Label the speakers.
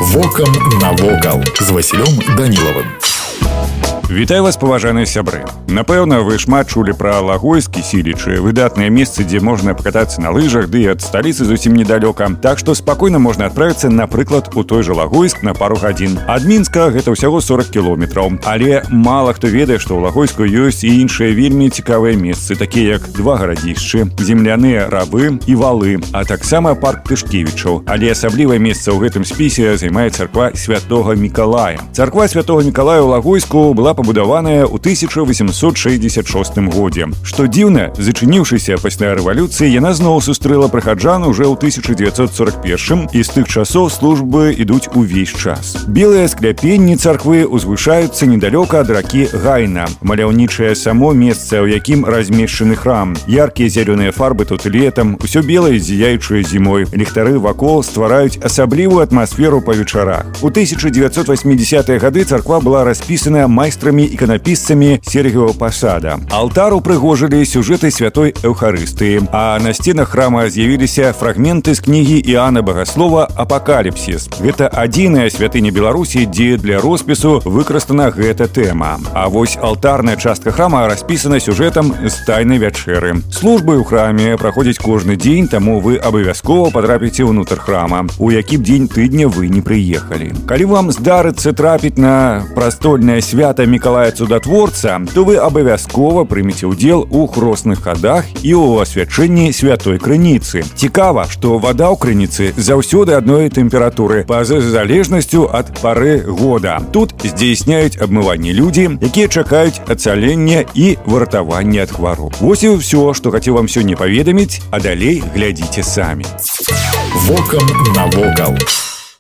Speaker 1: Вокам навокал з Васілём Данілавым.
Speaker 2: Вітаю вас, паважаныя сябры. Напэўна, вы шмат чулі пра Лагойск і Сілічы, выдатнае месцы, дзе можна пакатацца на лыжах, ды і ад сталіцы зусім недалёка. Так што спакойна можна адправіцца, напрыклад, у той жа Лагойск на пару гадзін. Ад Мінска гэта ўсяго 40 кіложметраў. Але мала хто ведае, што ў Лагойску ёсць і іншыя вельмі цікавыя месцы, такія як два гарадзішчы, земляныя равы і валы, а таксама парк Тышкевічаў. Але асаблівае месца ў гэтым спісе займае царква Святога Мікалая. Царква Святога Мікалая ў Лагойску была пабудаваная ў 1866 годзе. Што дзіўна, зачыніўшыся пасля рэвалюцыі, яна зноў сустрэла прыхаджан уже ў 1941 і з тых часоў службы ідуць увесь час. Белыя скляпенні царквы узвышаюцца недалёка ад ракі Гайна. Маляўнічае само месца, у якім размешчаны храм. Яркія зялёныя фарбы тут летам, усё белае зіяючае зімой. Ліхтары вакол ствараюць асаблівую атмасферу па вечарах. У 1980-е гады царква была распісана майстрамі іканапісцамі Сергіева Пасада. Алтар упрыгожылі сюжэты святой Эўхарыстыі, а на сценах храма з'явіліся фрагменты з кнігі Іана Багаслова «Апакаліпсіс». Гэта адзіная святыня Беларусі, дзе для роспісу выкарыстана гэта тэма. А вось алтарная частка храма распісана сюжэтам з тайнай вячэры. Службы ў храме праходзяць кожны дзень, таму вы абавязкова патрапіце ўнутр храма, у які б дзень тыдня вы не прыехалі. Калі вам здарыцца трапіць на прастольнае свята Мікалая Цудатворца, то вы абавязкова прымеце ўдзел у хросных хадах і ў асвячэнні святой крыніцы. Цікава, што вада ў крыніцы заўсёды адной тэмпературы па-за залежнасцю ад пары года. Тут здзейсняюць абмыванне людзі, якія чакаюць ацалення і выратавання ад хвароб. Вось і ўсё, што хацеў вам сёння паведаміць, а далей глядзіце самі.
Speaker 1: Вокам навокал.